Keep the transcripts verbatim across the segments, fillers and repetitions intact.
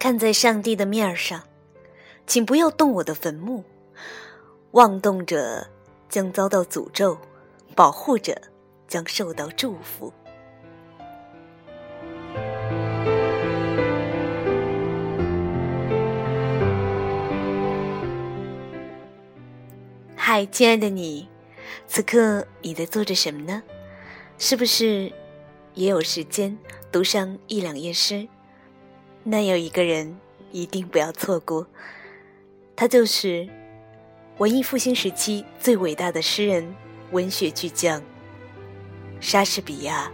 看在上帝的面上，请不要动我的坟墓，妄动者将遭到诅咒，保护者将受到祝福。嗨，亲爱的你，此刻你在做着什么呢？是不是也有时间读上一两页诗？那有一个人一定不要错过，他就是文艺复兴时期最伟大的诗人、文学巨匠莎士比亚。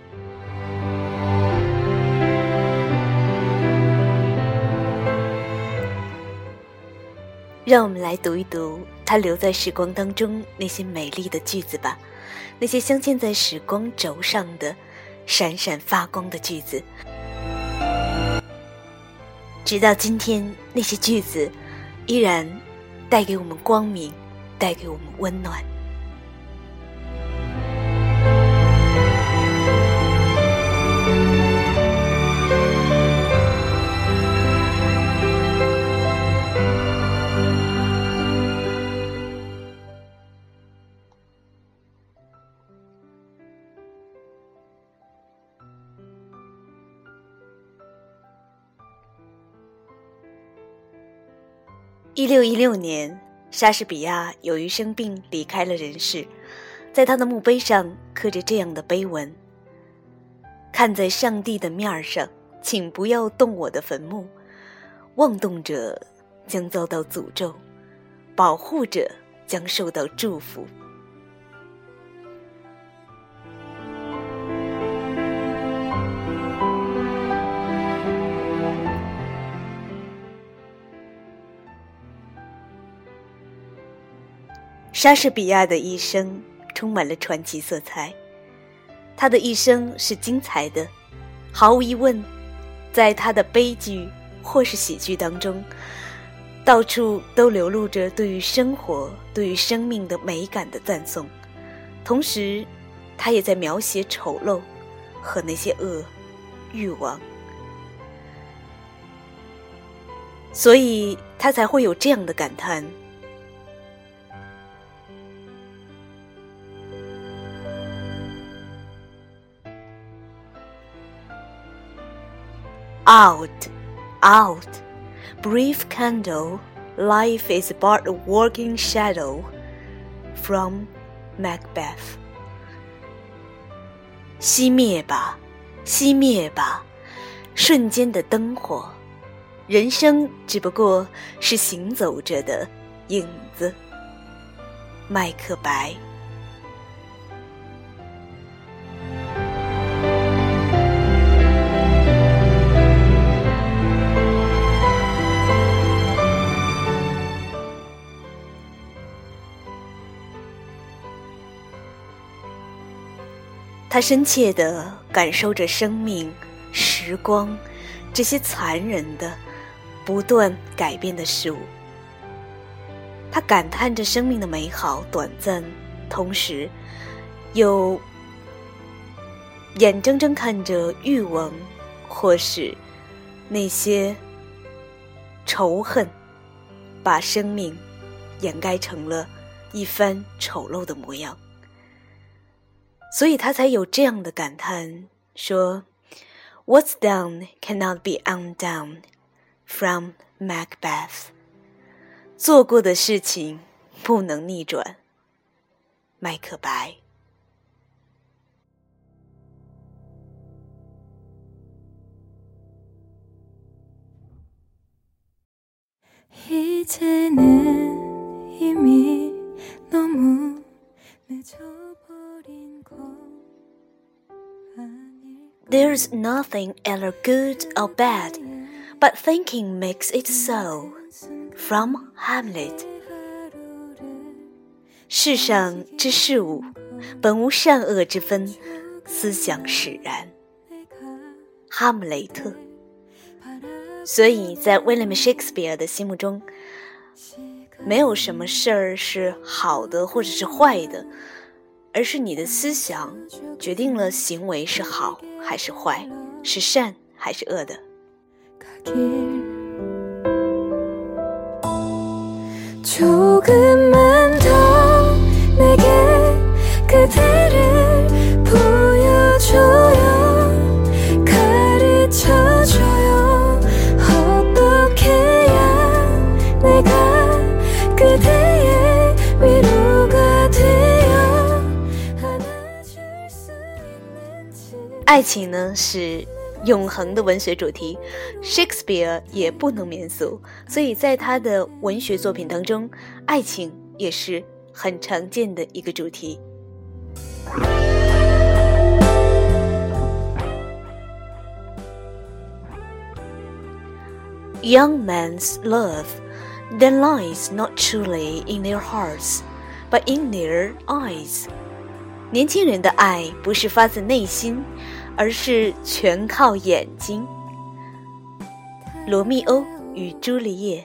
让我们来读一读他留在时光当中那些美丽的句子吧，那些镶嵌在时光轴上的闪闪发光的句子。直到今天，那些句子依然带给我们光明，带给我们温暖。一六一六年，莎士比亚由于生病离开了人世，在他的墓碑上刻着这样的碑文：看在上帝的面上，请不要动我的坟墓，妄动者将遭到诅咒，保护者将受到祝福。莎士比亚的一生充满了传奇色彩，他的一生是精彩的，毫无疑问，在他的悲剧或是喜剧当中，到处都流露着对于生活、对于生命的美感的赞颂，同时他也在描写丑陋和那些恶、欲望，所以他才会有这样的感叹：Out, out, brief candle, life is but a walking shadow. From Macbeth. 熄灭吧，熄灭吧，瞬间的灯火，人生只不过是行走着的影子。麦克白。他深切地感受着生命、时光这些残忍的、不断改变的事物。他感叹着生命的美好、短暂，同时又眼睁睁看着欲望或是那些仇恨把生命掩盖成了一番丑陋的模样。所以他才有这样的感叹，说 What's done cannot be undone. From Macbeth. 做过的事情不能逆转。麦克白。There's nothing either good or bad, but thinking makes it so. From Hamlet. 世上之事物，本无善恶之分，思想使然。哈姆雷特。所以在 William Shakespeare 的心目中，没有什么事儿是好的或者是坏的，而是你的思想决定了行为是好还是坏，是善还是恶的。 조금만 더 내게 그대를 보여줘요 가르쳐줘요 어떻게 해야 내가 그대의 위로가 되어 안아줄 수 있는지 爱情呢是永恒的文学主题 Shakespeare 也不能免俗，所以在他的文学作品当中，爱情也是很常见的一个主题。 Young men's love then lies not truly in their hearts but in their eyes。 年轻人的爱不是发自内心，而是全靠眼睛。罗密欧与朱丽叶。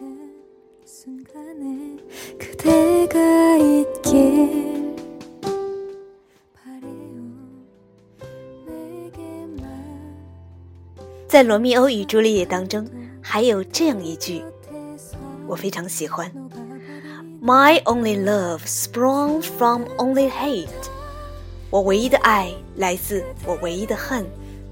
在罗密欧与朱丽叶当中，还有这样一句，我非常喜欢。My only love sprung from only hate。 我唯一的爱来自我唯一的恨。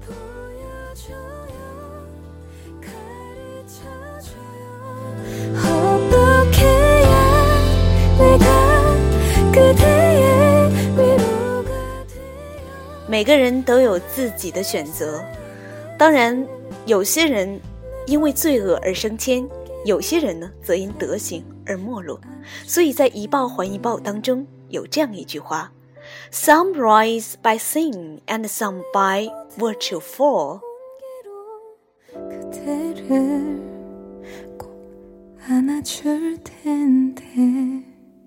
每个人都有自己的选择，当然，有些人因为罪恶而升迁，有些人呢则因德行而没落。所以在一报还一报当中有这样一句話 Some rise by sin and some by virtue fall。 그대를 꼭 안아줄 텐데。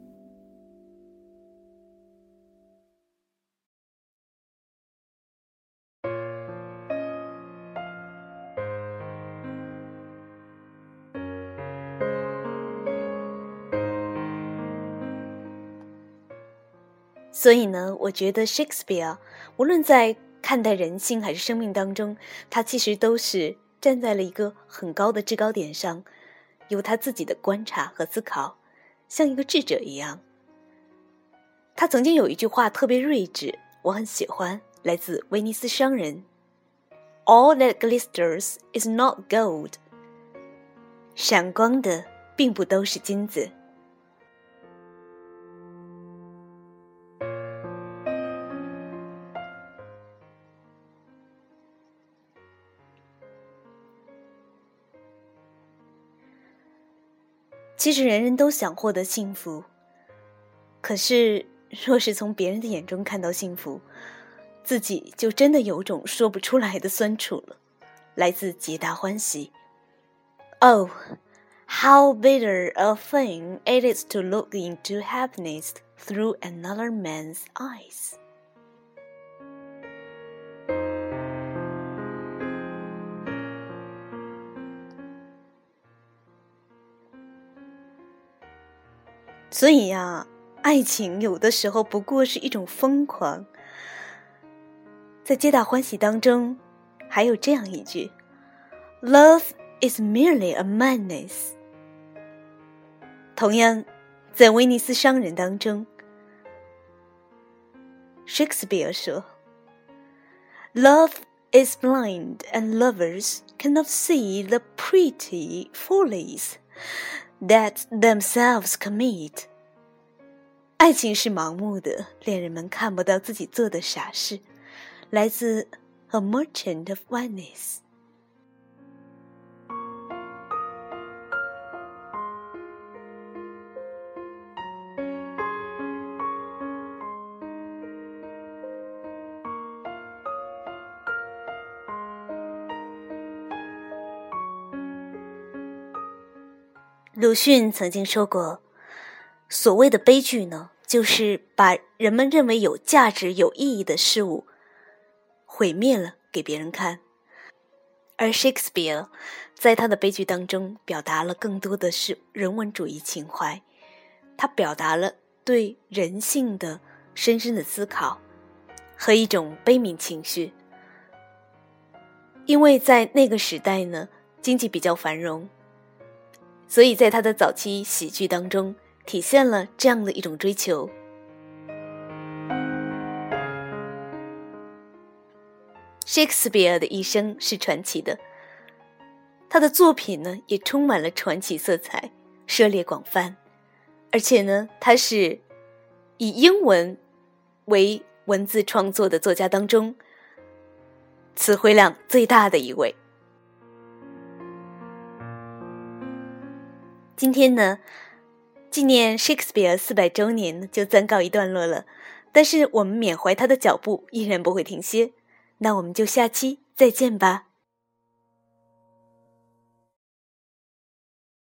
所以呢，我觉得 Shakespeare 无论在看待人性还是生命当中，他其实都是站在了一个很高的制高点上，有他自己的观察和思考，像一个智者一样。他曾经有一句话特别睿智，我很喜欢，来自威尼斯商人 All that glisters is not gold。 闪光的并不都是金子。其实人人都想获得幸福，可是若是从别人的眼中看到幸福，自己就真的有种说不出来的酸楚了。来自皆大欢喜。 Oh, how bitter a thing it is to look into happiness through another man's eyes。 所以呀，爱情有的时候不过是一种疯狂。在皆大欢喜当中，还有这样一句 Love is merely a madness。 同样，在威尼斯商人当中 Shakespeare 说 Love is blind and lovers cannot see the pretty follies that themselves commit。 爱情是盲目的，恋人们看不到自己做的傻事。来自 A Merchant of Venice。 鲁迅曾经说过，所谓的悲剧呢，就是把人们认为有价值有意义的事物毁灭了给别人看。而 Shakespeare 在他的悲剧当中表达了更多的是人文主义情怀，他表达了对人性的深深的思考和一种悲悯情绪。因为在那个时代呢， 经济比较繁荣，所以在他的早期喜剧当中体现了这样的一种追求。Shakespeare 的一生是传奇的，他的作品呢也充满了传奇色彩，涉猎广泛，而且呢他是以英文为文字创作的作家当中词汇量最大的一位。今天呢纪念 Shakespeare 四百周年就暂告一段落了，但是我们缅怀他的脚步依然不会停歇，那我们就下期再见吧。